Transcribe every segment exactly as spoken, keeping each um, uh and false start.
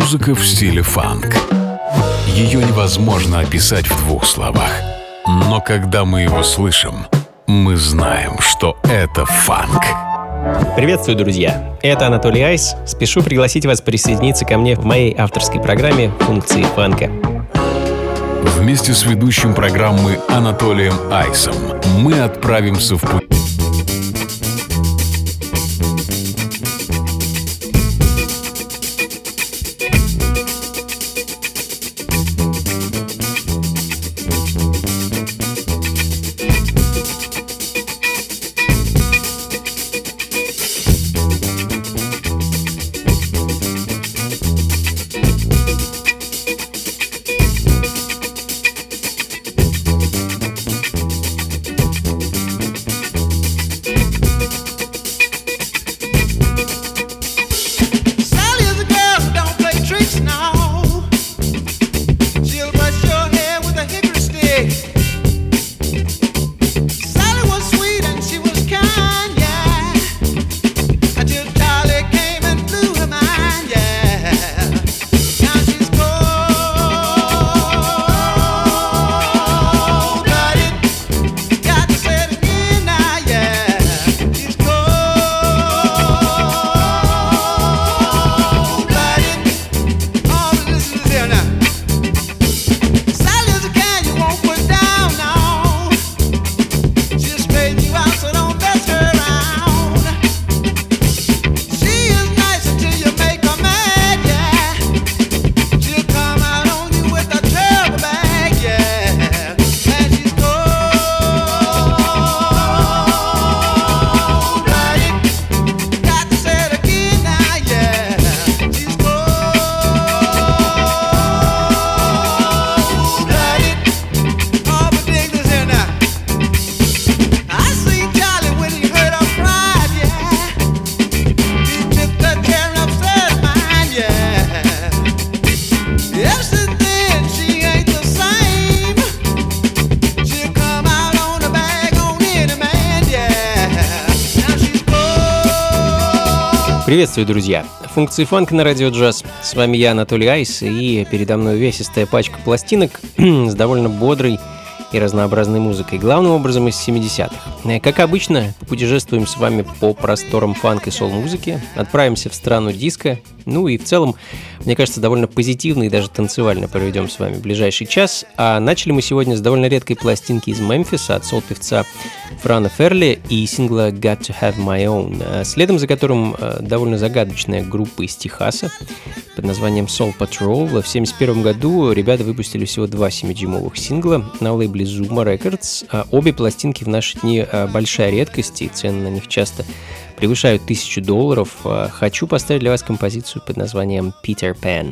Музыка в стиле фанк. Ее невозможно описать в двух словах. Но когда мы его слышим, мы знаем, что это фанк. Приветствую, друзья! Это Анатолий Айс. Спешу пригласить вас присоединиться ко мне в моей авторской программе «Функции фанка». Вместе с ведущим программы Анатолием Айсом мы отправимся в путь. Приветствую, друзья! Функции фанка на радио джаз. С вами я, Анатолий Айс, и передо мной увесистая пачка пластинок с довольно бодрой и разнообразной музыкой, главным образом из семидесятых. Как обычно, путешествуем с вами по просторам фанк и сол-музыки, отправимся в страну диско, ну и в целом, мне кажется, довольно позитивно и даже танцевально проведем с вами ближайший час. А начали мы сегодня с довольно редкой пластинки из Мемфиса от сол-певца Франа Ферли и сингла «Got to Have My Own», следом за которым довольно загадочная группа из Техаса под названием Soul Patrol. В семьдесят первом году ребята выпустили всего два семидюймовых сингла на лейбле Zuma Records. Обе пластинки в наши дни большая редкость, и цены на них часто превышают тысячу долларов. Хочу поставить для вас композицию под названием «Peter Pan».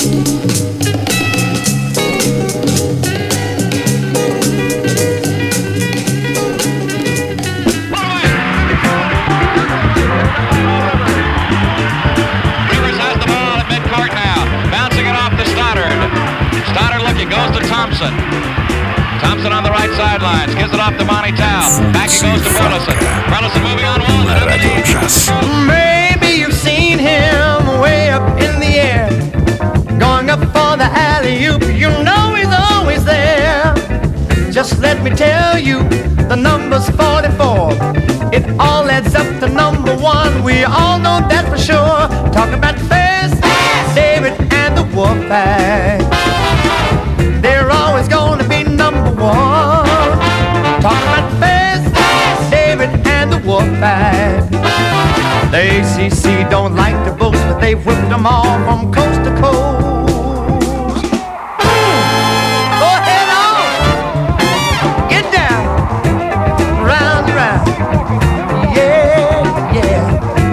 Goes to Thompson. Thompson on the right sidelines. Gives it off to Monty Tao. Back it goes to Burleson. Burleson moving on one. На радио джаз. Maybe you've seen him way up in the air, going up for the alley-oop. You know he's always there. Just let me tell you, the number's forty-four. It all adds up to number one. We all know that for sure. Talking about Fast David and the Wolfpack. They're always gonna be number one. Talking about Fast David and the Wolfpack. The A C C don't like to boast, but they've whipped them all from coast to coast. Go ahead on, get down, round and round, yeah, yeah.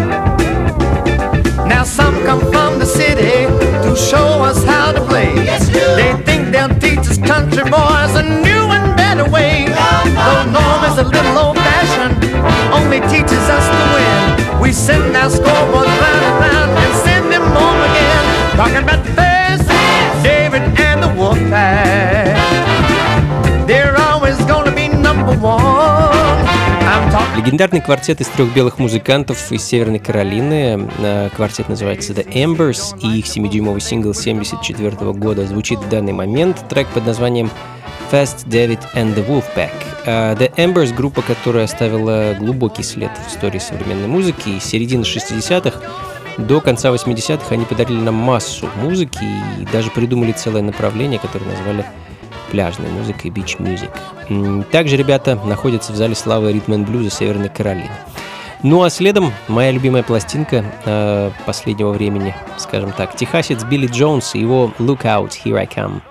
Now some come from the city to show us how to play. They think they'll teach us country boys a new and better way. Though Norm is a little old-fashioned, only teaches us to win. We send our scoreboards round and round and send them home again. Talking about Fast David and the Wolfpack. They're always gonna be number one. Легендарный квартет из трех белых музыкантов из Северной Каролины. Квартет называется The Embers, и их семидюймовый сингл семьдесят четвёртого года звучит в данный момент. Трек под названием Fast David and the Wolfpack. The Embers — группа, которая оставила глубокий след в истории современной музыки. И с середины шестидесятых до конца восьмидесятых они подарили нам массу музыки и даже придумали целое направление, которое назвали пляжной музыкой, beach music. Также ребята находятся в зале славы ритм энд блюза Северной Каролины. Ну а следом моя любимая пластинка э, последнего времени, скажем так, техасец Билли Джонс и его Look Out, Here I Come.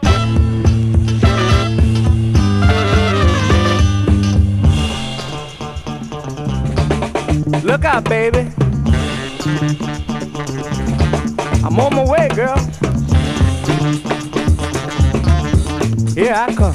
Look out, baby. I'm on my way, girl. Here I come.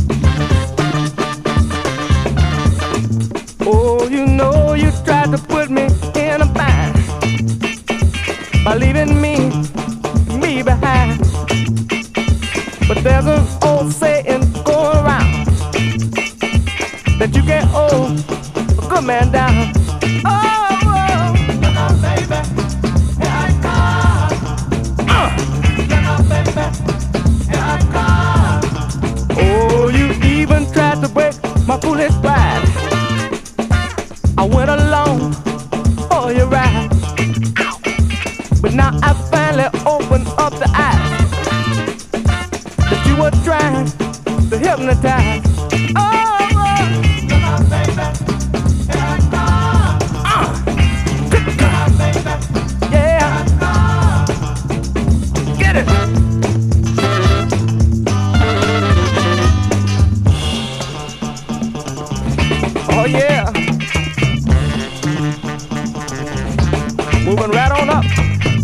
Oh, you know you tried to put me in a bind by leaving me, me behind. But there's an old saying going around that you can't hold a good man down. Oh, oh. Look out, baby, here I come. Uh. Look out, baby, here I come. Oh, you even tried to break my foolish pride. I went along for your ride, but now I finally opened up the eyes that you were trying to hypnotize. Oh, oh. Look out, baby, here I come. Uh. Look out, baby, yeah, get it. Oh yeah, moving right on up.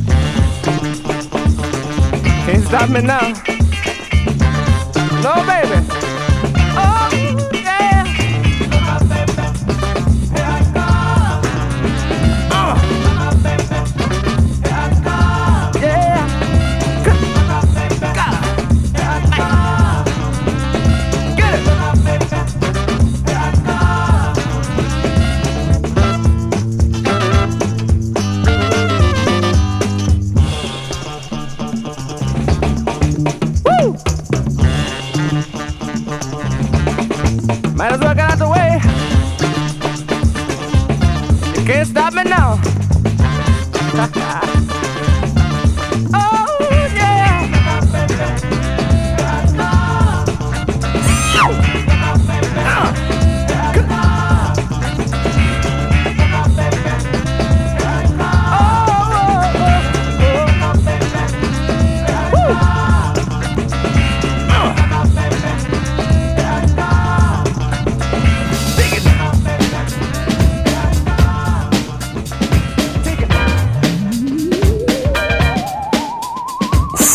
Can't stop me now. No, baby. Oh yeah. Look out, baby, here I come. Uh. Look out, baby, here I come. Yeah. Look out, baby, here I come. Get it. Look out, baby, here I come. Woo!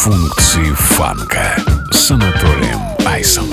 Функции фанка с Анатолием Айсом.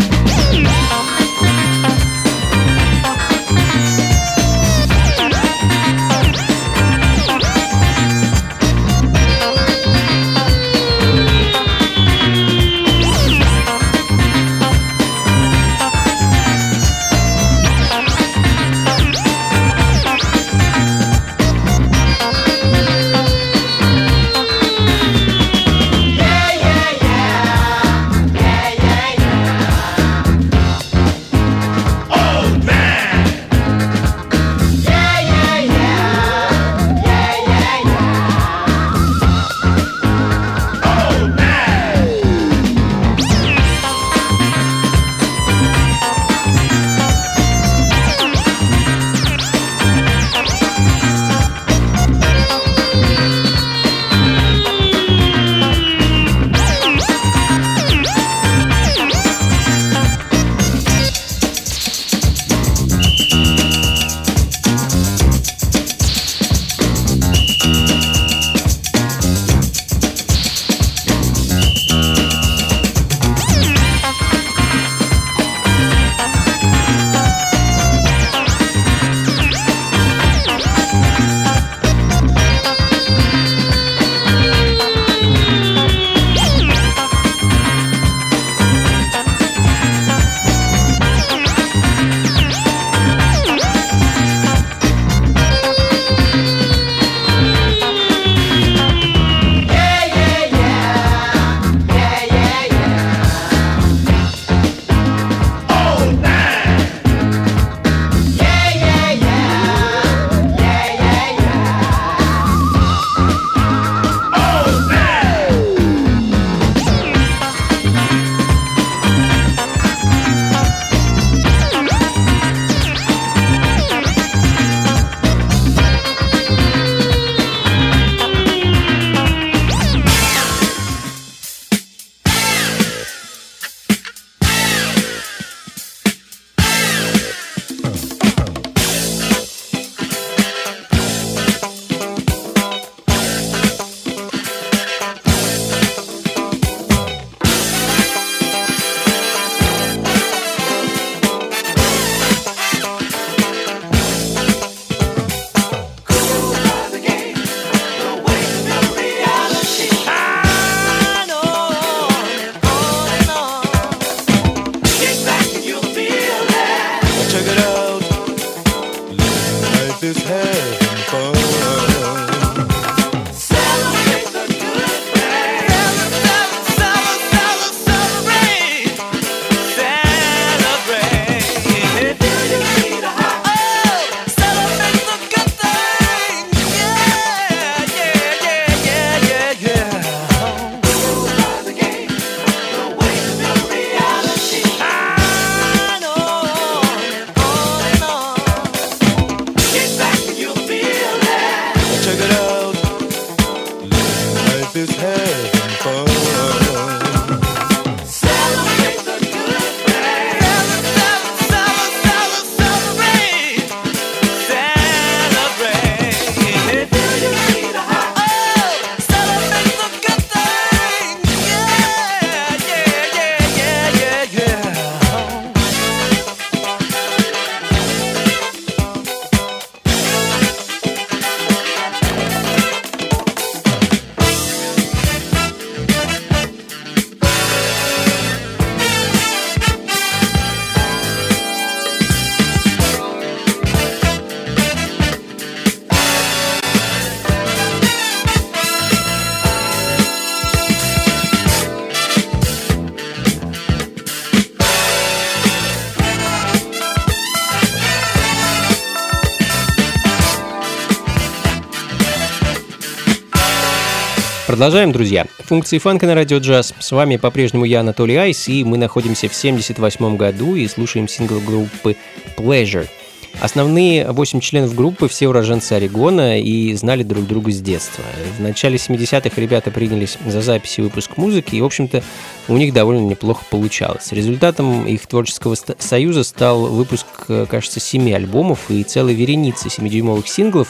Продолжаем, друзья. Функции фанка на радио джаз. С вами по-прежнему я, Анатолий Айс, и мы находимся в семьдесят восьмом году и слушаем сингл группы Pleasure. Основные восемь членов группы все уроженцы Орегона и знали друг друга с детства. В начале семидесятых ребята принялись за запись и выпуск музыки, и, в общем-то, у них довольно неплохо получалось. Результатом их творческого союза стал выпуск, кажется, семи альбомов и целой вереницы семидюймовых синглов,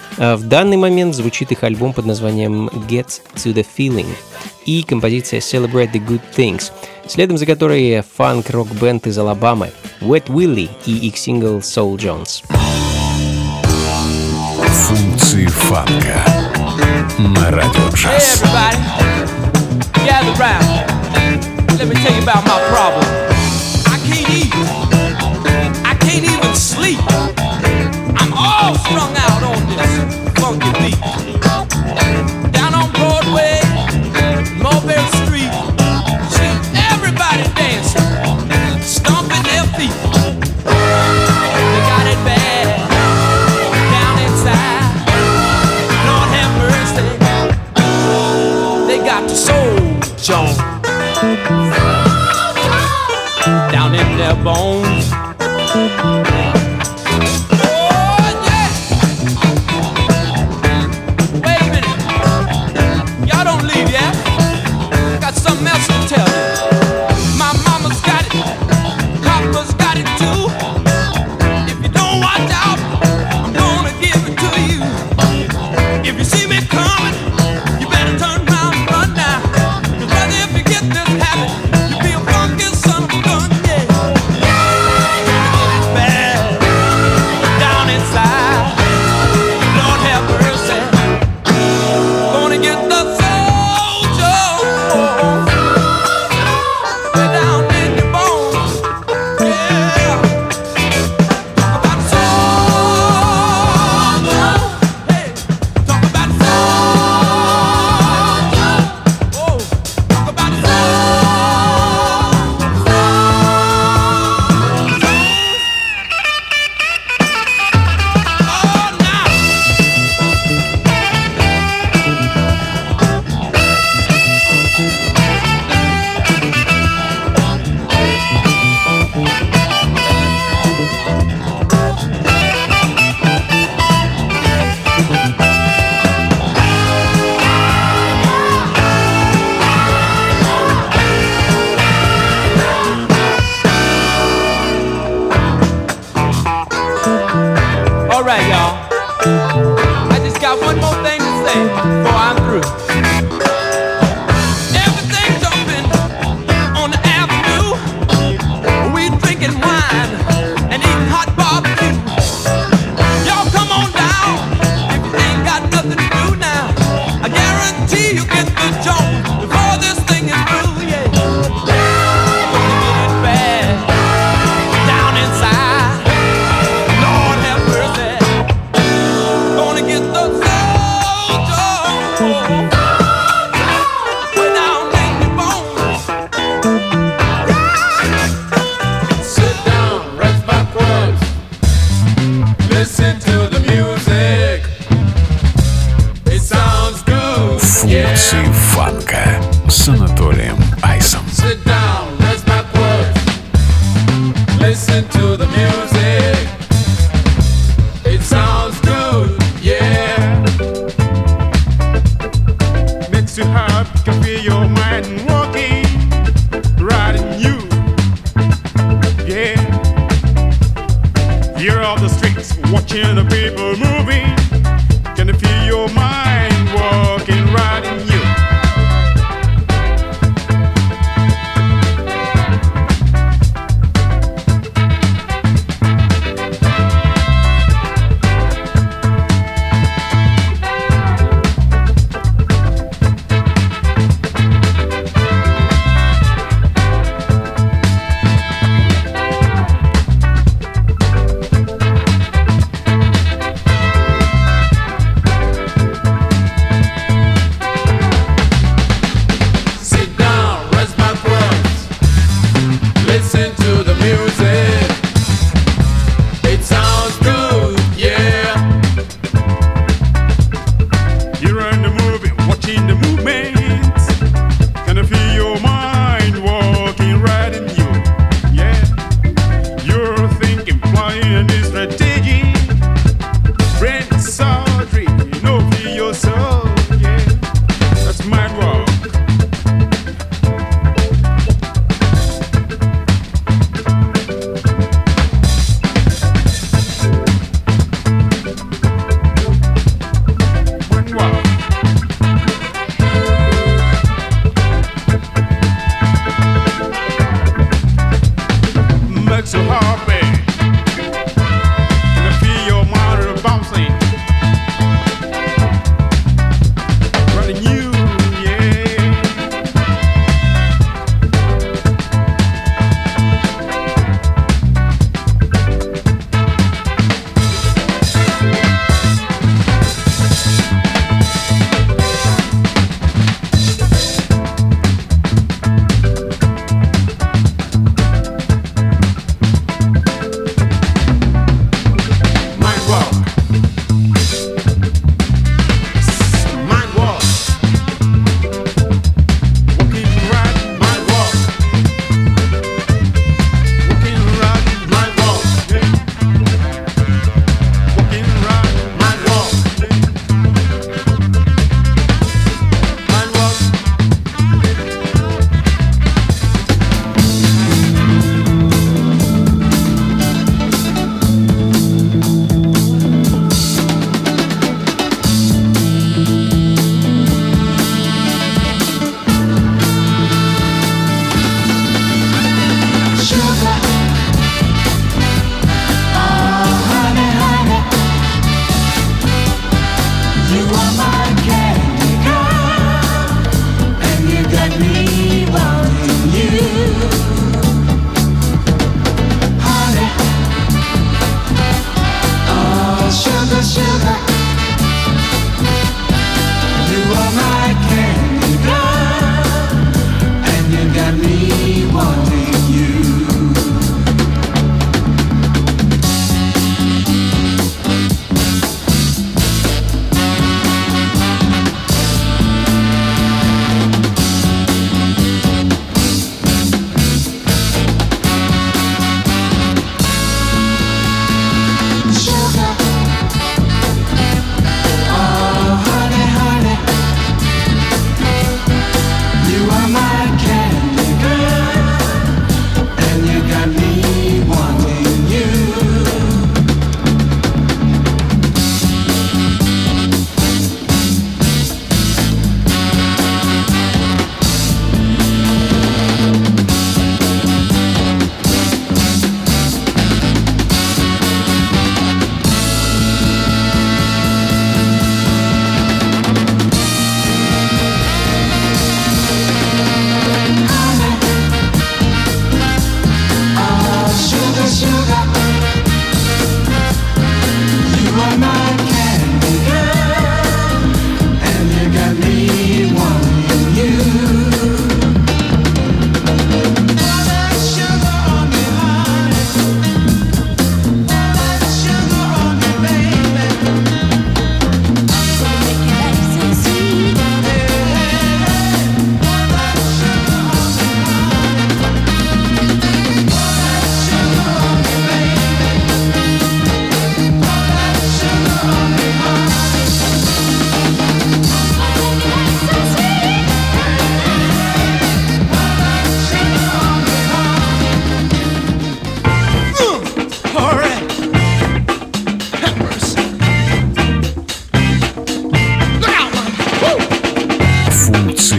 В данный момент звучит их альбом под названием Get to the Feeling и композиция Celebrate the Good Things, следом за которой фанк-рок-бенд из Алабамы Wet Willie и их сингл Soul Jones. Функции фанка на радио джаз. Gather round. Let me tell you about my problem. I can't eat. I can't even sleep. I'm all strung out on this funky beat. Down on Broadway, Mulberry Street, see everybody dancing, stomping their feet. They got it bad down inside. Lord have mercy. They got the soul Jones down in their bones. Oh yeah! Wait a minute, y'all don't leave yet. I got something else to tell you. My mama's got it, Papa's got it too. If you don't watch out, I'm gonna give it to you. If you see me coming, you better turn around and run now. If you get this habit, you feel funky son of a gun, yeah. It's bad down inside. Lord have mercy. Gonna get the soldier way down in your bones, yeah. Talk about soldier, hey. Talk about soldier, oh. Talk about all right, y'all. I just got one more thing to say before I'm through. Everything jumping on the avenue. We drinking wine and eating hot barbecue. Y'all come on down if you ain't got nothing to do now. I guarantee you get the joint before this thing is through, yeah. It's bad down inside. Lord have mercy. Gonna get the soldier way down in your bones. Sit down, rest backwards. Listen to the music. It sounds good. Функции фанка с Анатолием Айсом. Sit down, rest backwards. Listen to the music. It sounds good, yeah. Makes you happy, can feel your mind walking, riding you, yeah. You're off the streets, watching the people moving, can you feel your mind walking, riding you.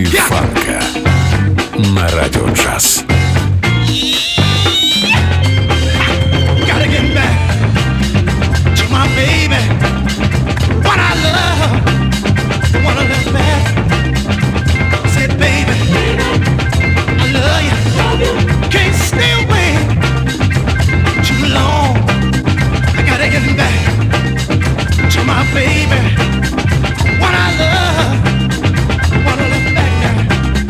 фанка на радио джаз. Gotta get back to my baby, what I love, the one I love back. Said, baby, I love you, can't stay away too long. I gotta get back to my baby, what I love, what I love back now.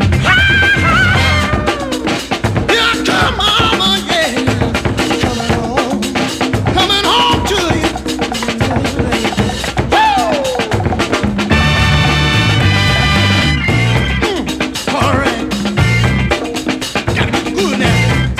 Yeah, come on, mama, yeah, coming home, coming home to you. Woo! Mm, all right, gotta get good now.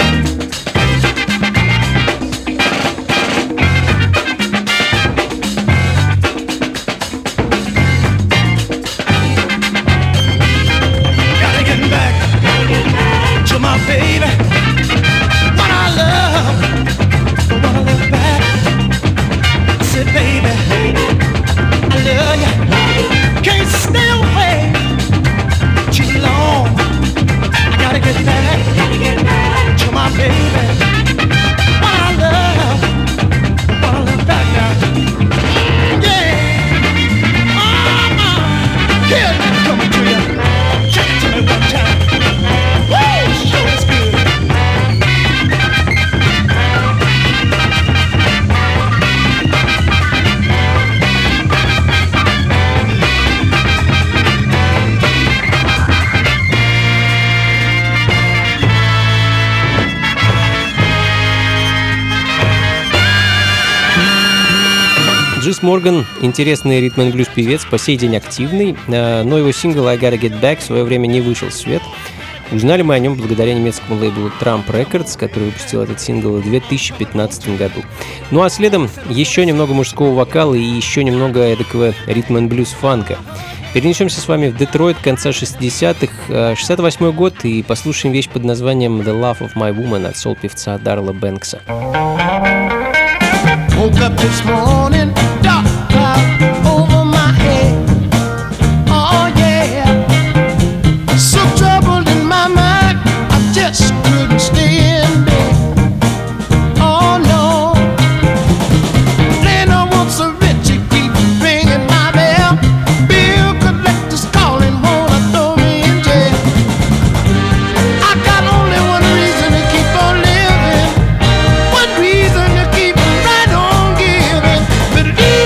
Gotta get back to my baby, what I love, the one I love back. I said, baby, I love you, can't stay away too long. I gotta get back to my baby, what I love, the one I love back now. Yeah, mama, here, coming to you. Check it to me one time. Woo, sure is good. Джис Морган — интересный ритм-н-блюз певец, по сей день активный, э, но его сингл «I Gotta Get Back» в свое время не вышел в свет. Узнали мы о нем благодаря немецкому лейблу Trump Records, который выпустил этот сингл в две тысячи пятнадцатом году. Ну а следом еще немного мужского вокала и еще немного эдакого ритм-н-блюз фанка. Перенесемся с вами в Детройт конца шестидесятых, шестьдесят восьмой год, и послушаем вещь под названием «The Love of My Woman» от сол-певца Дарла Бэнкса. Woke up this morning, dark cloud over my head. Oh yeah, so troubled in my mind, I just couldn't stay in bed. Oh no, then I want so rich to keep ringing my bell. Bill collectors calling, wanna throw me in jail. I got only one reason to keep on living, one reason to keep right on giving. But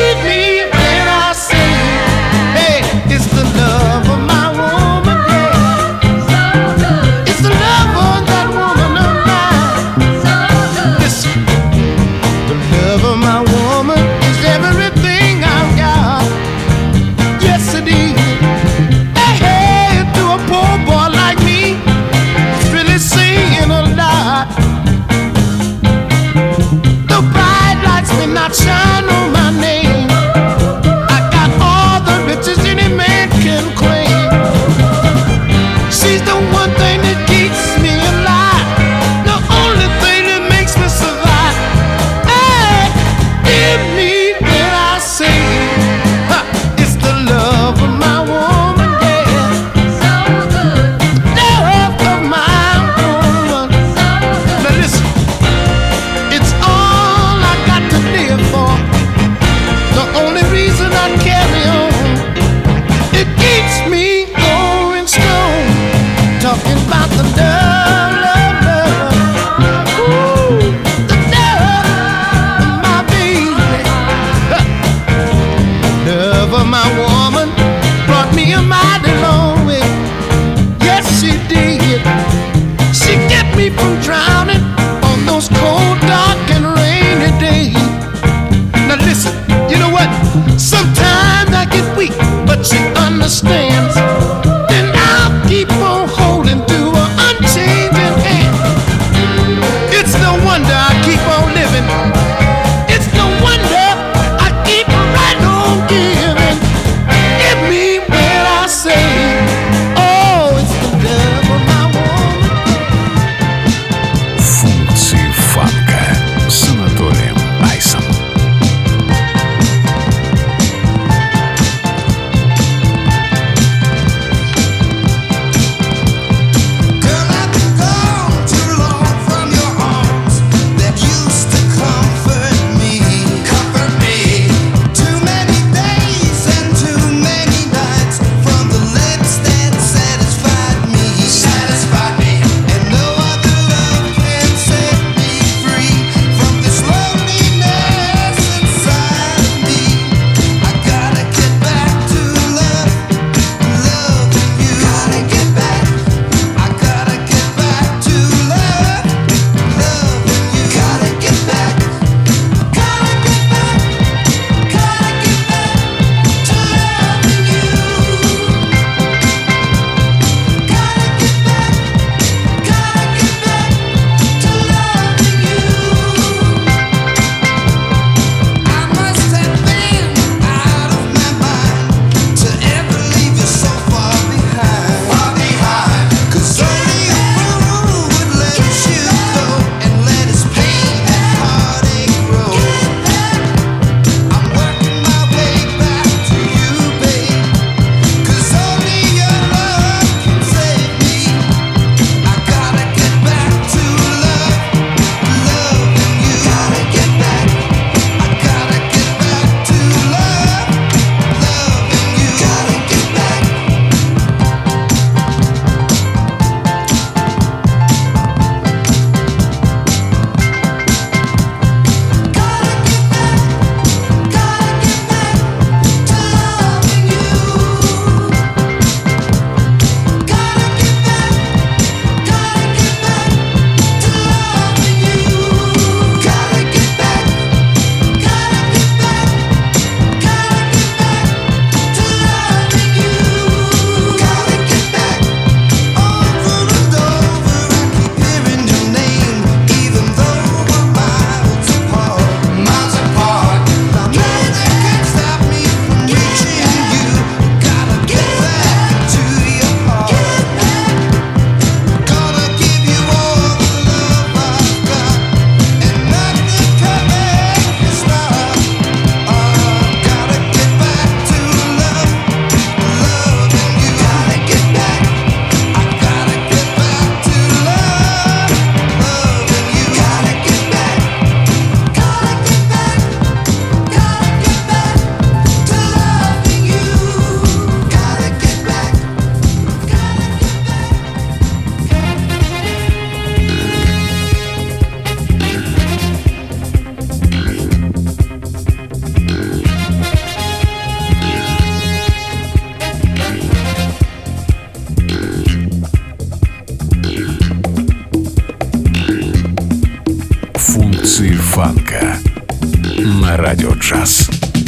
фанка на Радио Джаз.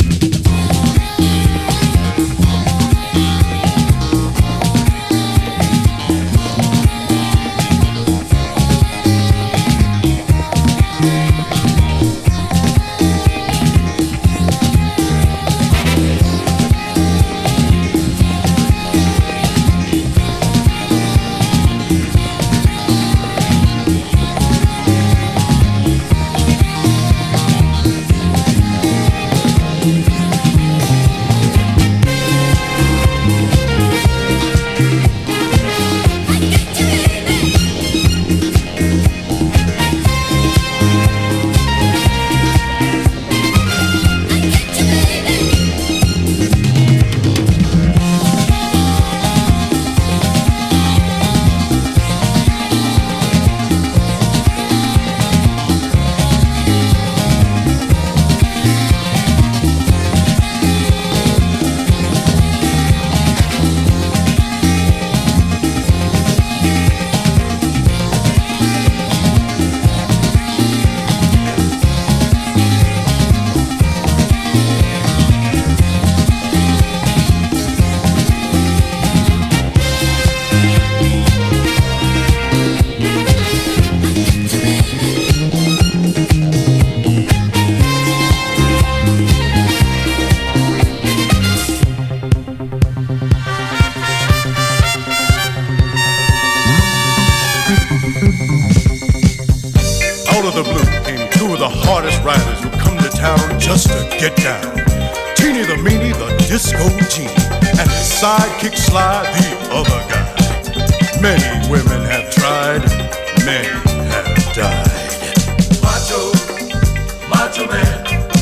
Sidekick Sly, the other guy. Many women have tried, many have died. Macho, macho man,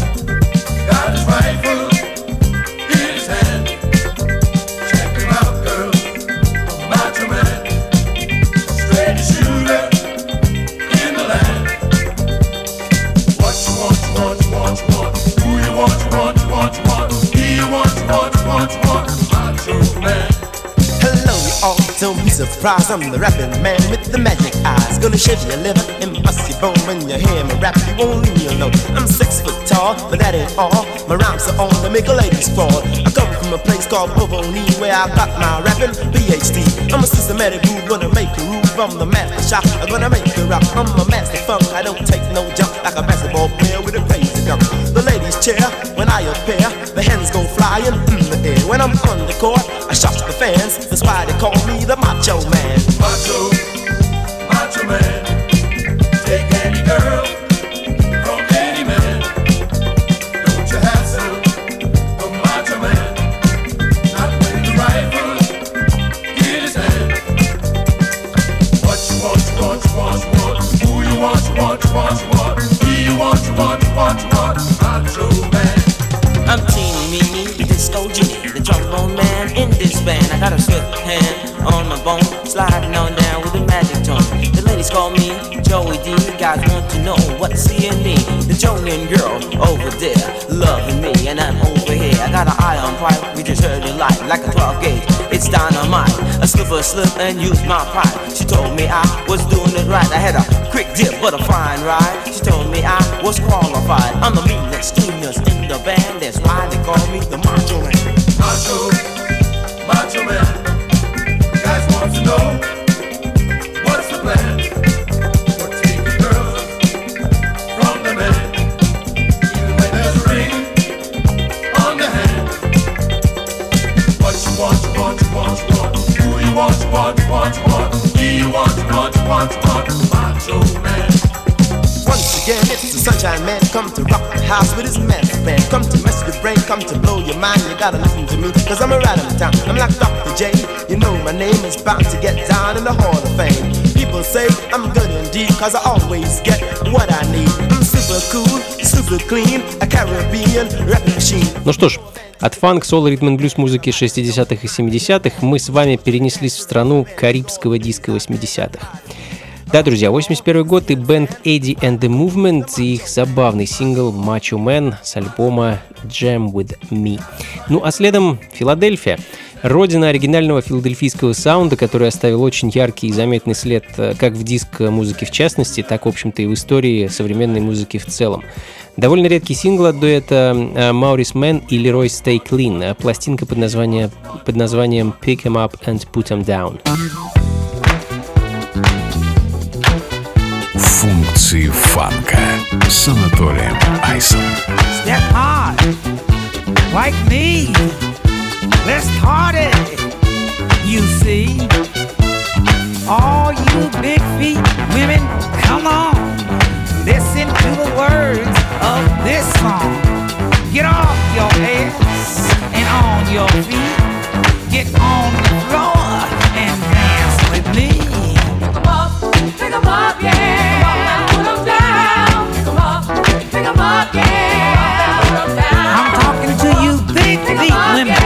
got his rifle in his hand. Check him out, girl, a macho man, straightest shooter in the land. What you want, you want, you want, you want, who you want, you want, you want, you want, he you want, you want, you want, you want. Hello, you all, don't be surprised. I'm the rapping man with the magic eyes. Gonna shave your liver and bust your bone. When you hear me rap, you won't leave me alone. I'm six foot tall, but that ain't all. My rhymes are on to make a lady sprawl. I come from a place called Provoni, where I got my rapping P H D. I'm a systematic groove, gonna make a groove from the master shop. I'm gonna make you rock. I'm a master funk. I don't take no jump like a basketball player with a crazy dunk. The ladies cheer when I appear. The hens go flying in the air. When I'm on the court, I shock the fans. That's why they call me the Macho Man. Macho, macho man. Take any girl from any man. Don't you have some, the macho man. Not when the rifle in his hand. What you want, you want, you want, you want. Who you want, you want, you want, you want. He you want, you want, you want, you want. Macho man. I'm Teeny Meeny, the disco genie, the trombone man in this band. I got a swift hand on my bone, sliding on down with a magic tone. The ladies call me Joey D. Guys want to know what's seeing me. The Jonian girl over there loving me, and I'm over here. I got an iron pipe, we just heard it light like a twelve gauge. It's dynamite. I slip a slip and use my pipe. She told me I was doing it right. I had a quick dip but a fine ride. She told me I was qualified. I'm the meanest genius in the band. That's why they call me the Macho Man. Macho, macho man. Guys want to know what's the plan for taking girls from the man, even when there's a ring on the hand. What you want, you want, you want, you want. Who you want, you want, you want, you want. He you want, you want, you want, you want. Macho Man. Once again, it's the Sunshine Man. Come to rock the house with his master band. Come to mess with your brain, come to blow your mind. You gotta listen to me, cause I'm a ride in town. I'm like Doctor J, you know my name is bound to get down in the Hall of Fame. People say I'm good indeed, cause I always get what I need. I'm super cool, super clean, a Caribbean rap machine. Ну что ж, от фанк, соло, ритм н блюз музыки шестидесятых и семидесятых мы с вами перенеслись в страну карибского диска восьмидесятых. Да, друзья, восемьдесят первый год и бэнд Eddie and the Movement и их забавный сингл Macho Man с альбома Jam with Me. Ну а следом Филадельфия. Родина оригинального филадельфийского саунда, который оставил очень яркий и заметный след как в диско-музыке в частности, так, в общем-то, и в истории современной музыки в целом. Довольно редкий сингл от дуэта Maurice Mann и Leroy Stay Clean, пластинка под, название, под названием Pick 'em Up and Put 'em Down. Функции фанка с Анатолием Айсом. Step hard, like me. Let's party, you see. All you big feet women, come on. Listen to the words of this song. Get off your ass and on your feet. Get on the floor and dance with me. Pick 'em up, pick 'em up, yeah. Put 'em down. Pick 'em up, pick 'em up, yeah. Put 'em down. I'm talking to you big feet women.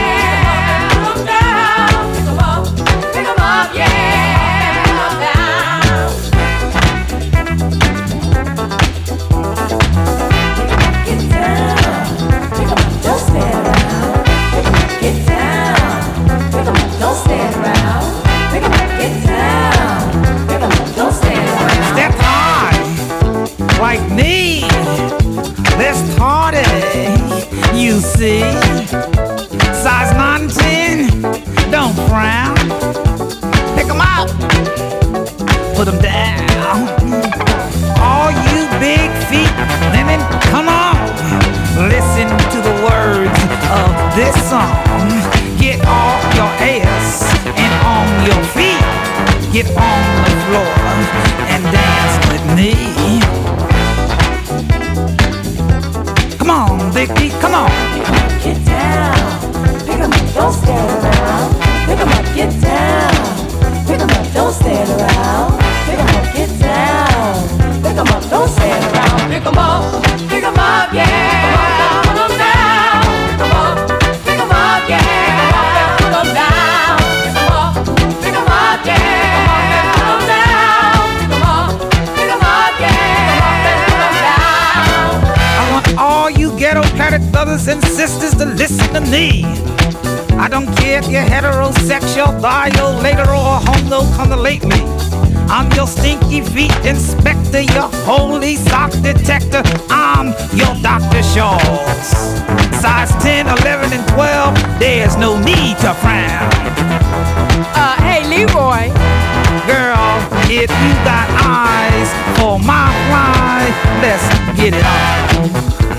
Like me, let's party, you see. Size nine and ten, don't frown. Pick 'em up, put 'em down. All you big feet women, come on. Listen to the words of this song. Get off your ass and on your feet. Get on the floor and dance with me. Come on, big feet, come on. Pick 'em up, get down. Pick 'em up, don't stand around. Pick 'em up, get down. Pick 'em up, don't stand around. Pick 'em up, get down. Pick 'em up, don't stand around. Pick 'em up, pick 'em up, yeah. Put 'em down. Pick 'em up, pick 'em up, yeah. Put 'em down. Pick 'em up, pick 'em up, yeah. Put 'em down. Pick 'em up, pick 'em up, yeah. Put 'em down. I want all you ghetto planet brothers and sisters to listen to me. I don't care if you're heterosexual, violator, or homo, come to late me. I'm your stinky feet inspector, your holy sock detector. I'm your Doctor Shaw's. Size ten, eleven, and twelve, there's no need to frown. Uh, hey, Leroy. Girl, if you got eyes for my fly, let's get it on.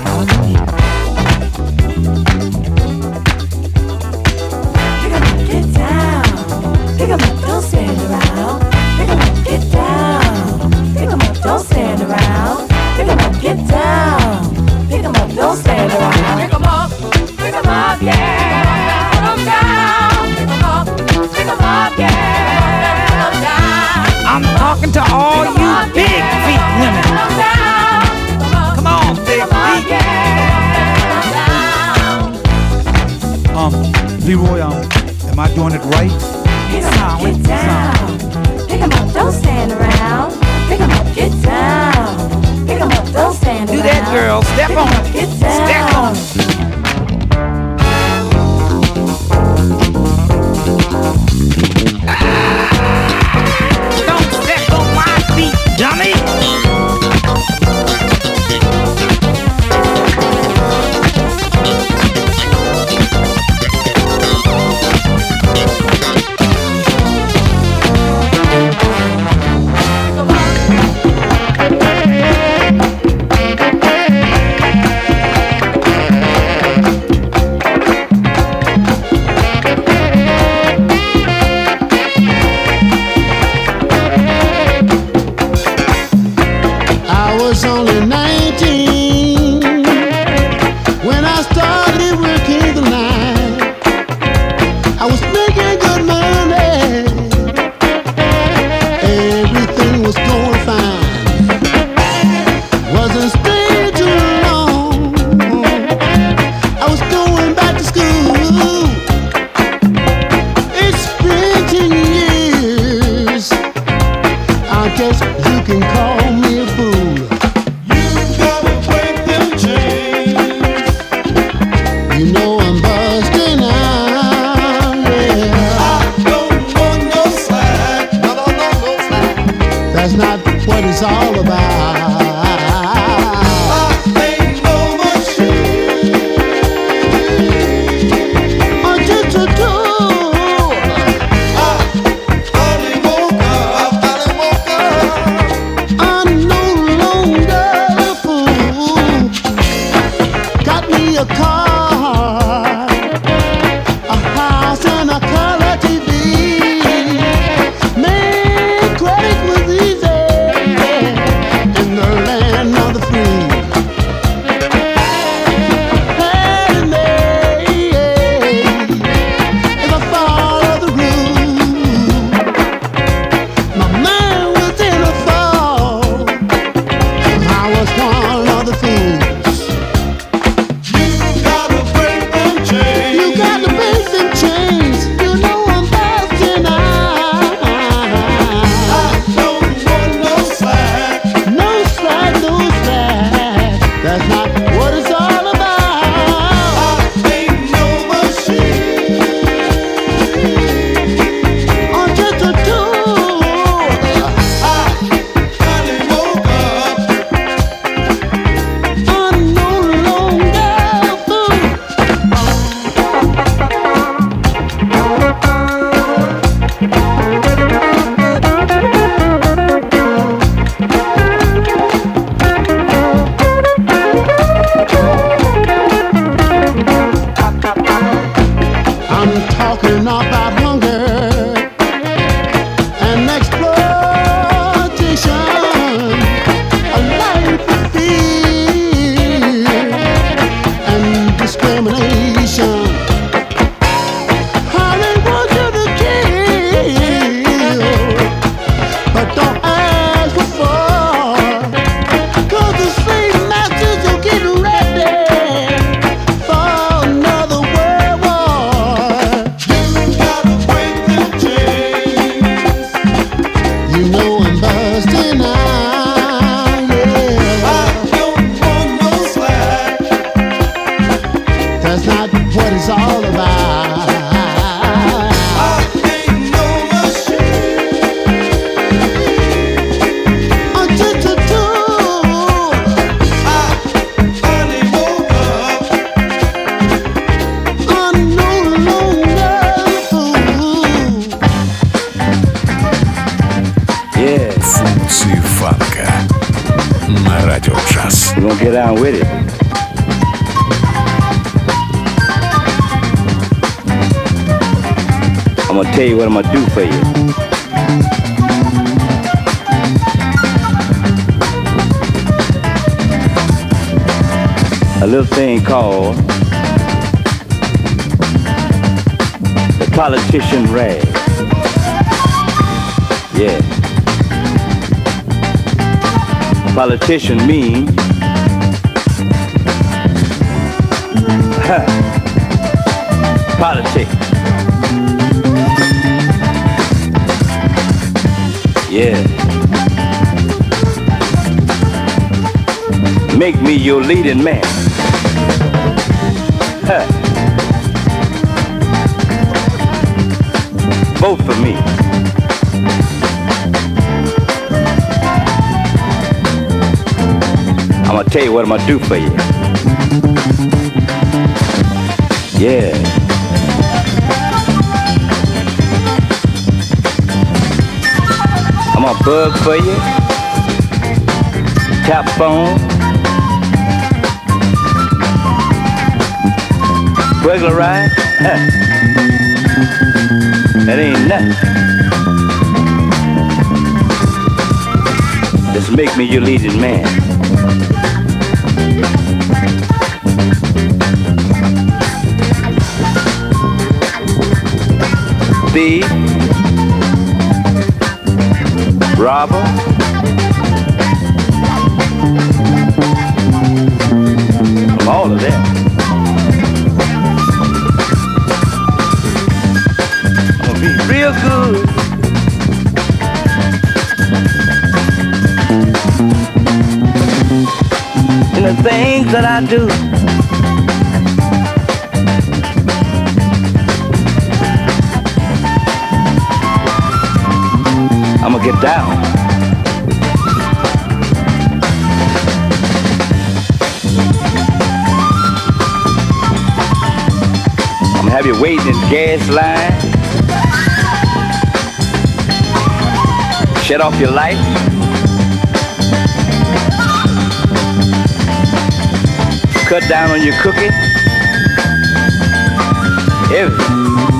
Pick 'em up, get down. Pick 'em up, don't stand around. Pick 'em up, get down. Pick 'em up, don't stand around. Pick 'em up, get down. Pick 'em up, don't stand around. Pick 'em up, pick 'em up, yeah. Put 'em down. Pick 'em up, pick 'em up, yeah. Put 'em down. I'm talking to all you big feet women. Come on, big feet. Um, Leroy, um, am I doing it right? Pick 'em up, get down. Pick 'em up, don't stand around. Pick 'em up, get down. Pick 'em up, don't stand around. Do that, girl. Step on it. Get down. Step on it. Don't step on my feet, dummy. That's not what it's all about. A car, a house, and a color T V. Man, credit was easy in the land of the free. And they, in the fall of the room, my man was in a fall, and I was one of the fools. We're gonna get on with it. I'm gonna tell you what I'm gonna do for you. A little thing called the politician rag. Yeah. Politician means politics. Yeah. Make me your leading man. Huh. Vote for me. I'm gonna tell you what I'm gonna do for you. Yeah. I'm gonna bug for you. Tap phone. Regularize. Huh. That ain't nothing. Just make me your leading man. Thief, robber, from all of that. I'm gonna be real good. In the things that I do. I'm gonna get down. have you waiting in gas line. Shut off your light. Cut down on your cooking. Everything.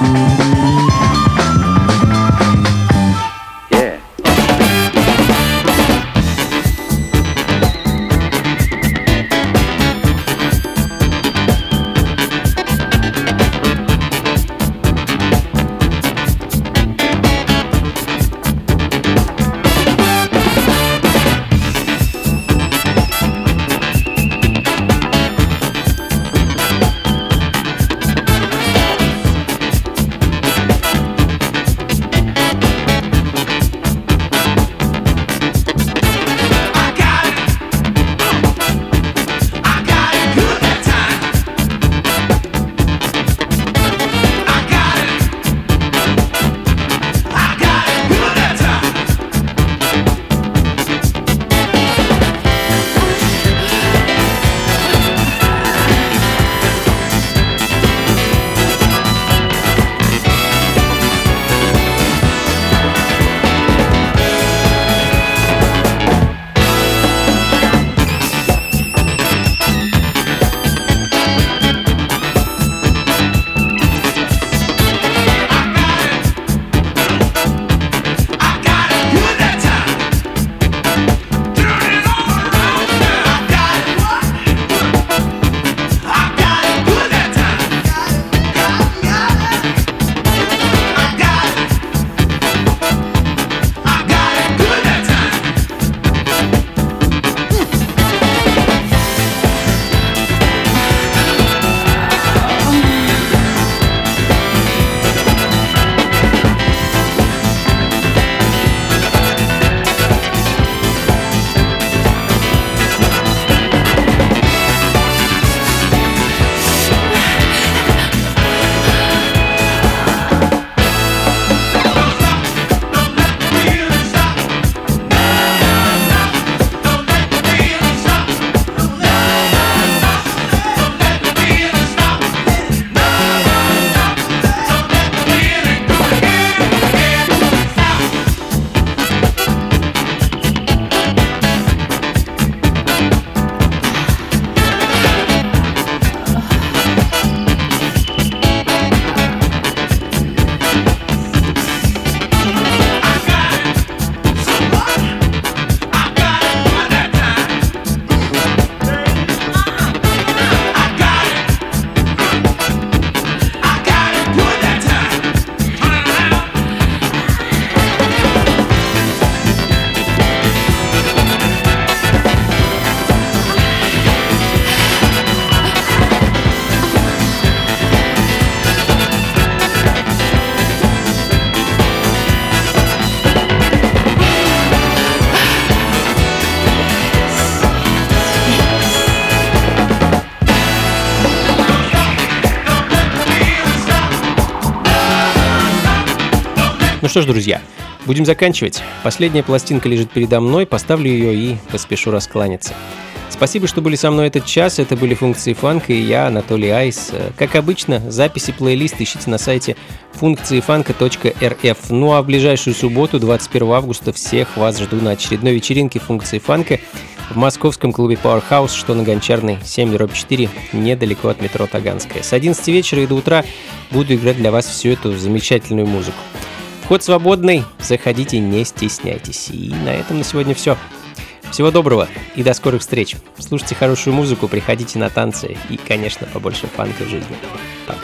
Ну что ж, друзья, будем заканчивать. Последняя пластинка лежит передо мной, поставлю ее и поспешу раскланяться. Спасибо, что были со мной этот час. Это были функции фанка и я, Анатолий Айс. Как обычно, записи плейлиста ищите на сайте функции фанка точка эр эф. Ну а в ближайшую субботу, двадцать первого августа, всех вас жду на очередной вечеринке функции фанка в московском клубе Powerhouse, что на Гончарной семь четыре, недалеко от метро Таганская. С одиннадцати вечера и до утра буду играть для вас всю эту замечательную музыку. Вход свободный, заходите, не стесняйтесь. И на этом на сегодня все. Всего доброго и до скорых встреч. Слушайте хорошую музыку, приходите на танцы и, конечно, побольше фанка в жизни. Пока.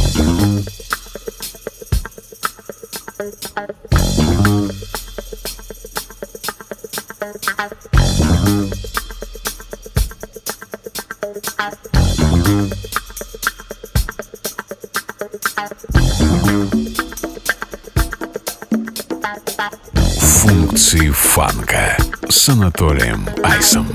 Функции фанка с Анатолием Айсом.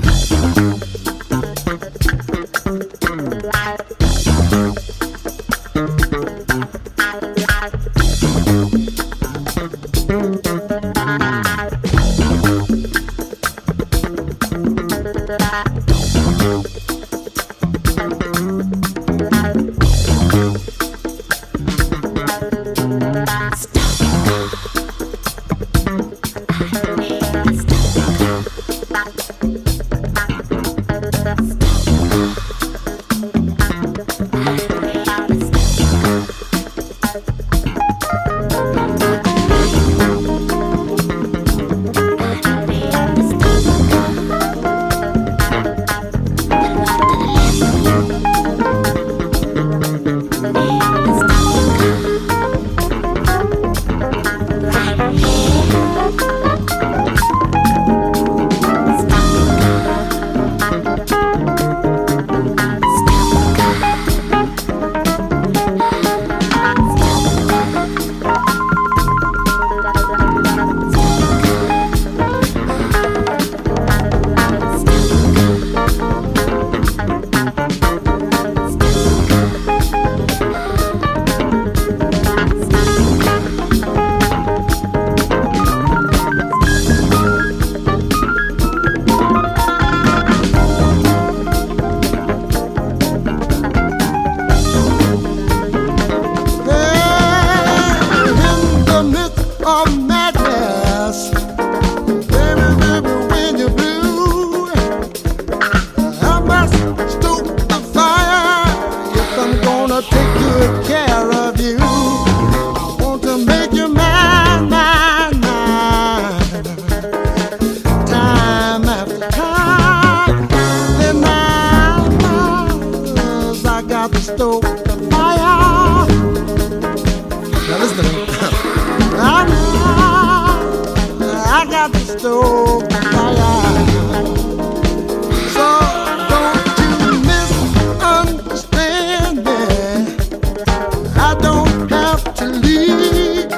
I got the stove fire. So don't you misunderstand me. I don't have to leave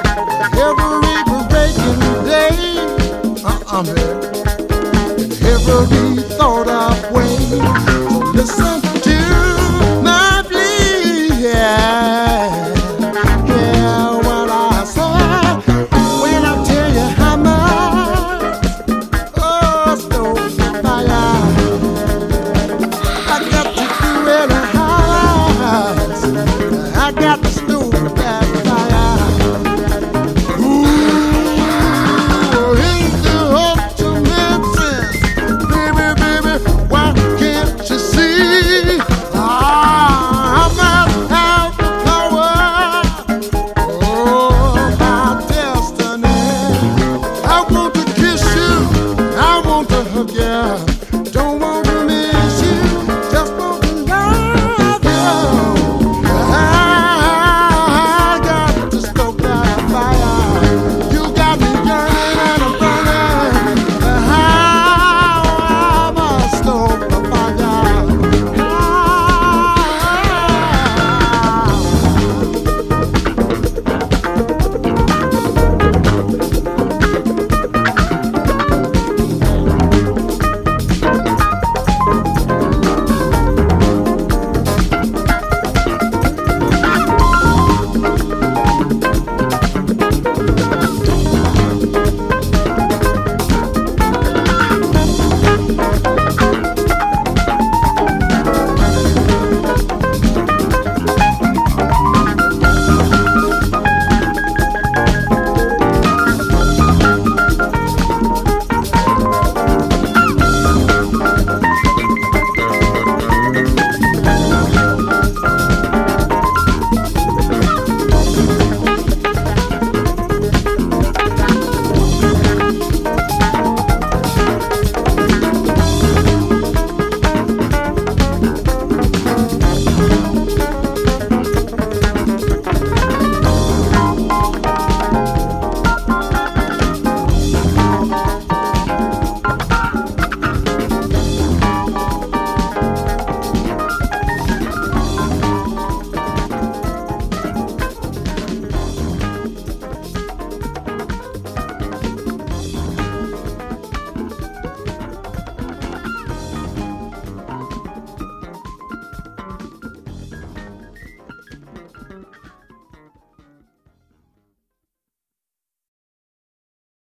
every breaking day. Uh-uh, man. Every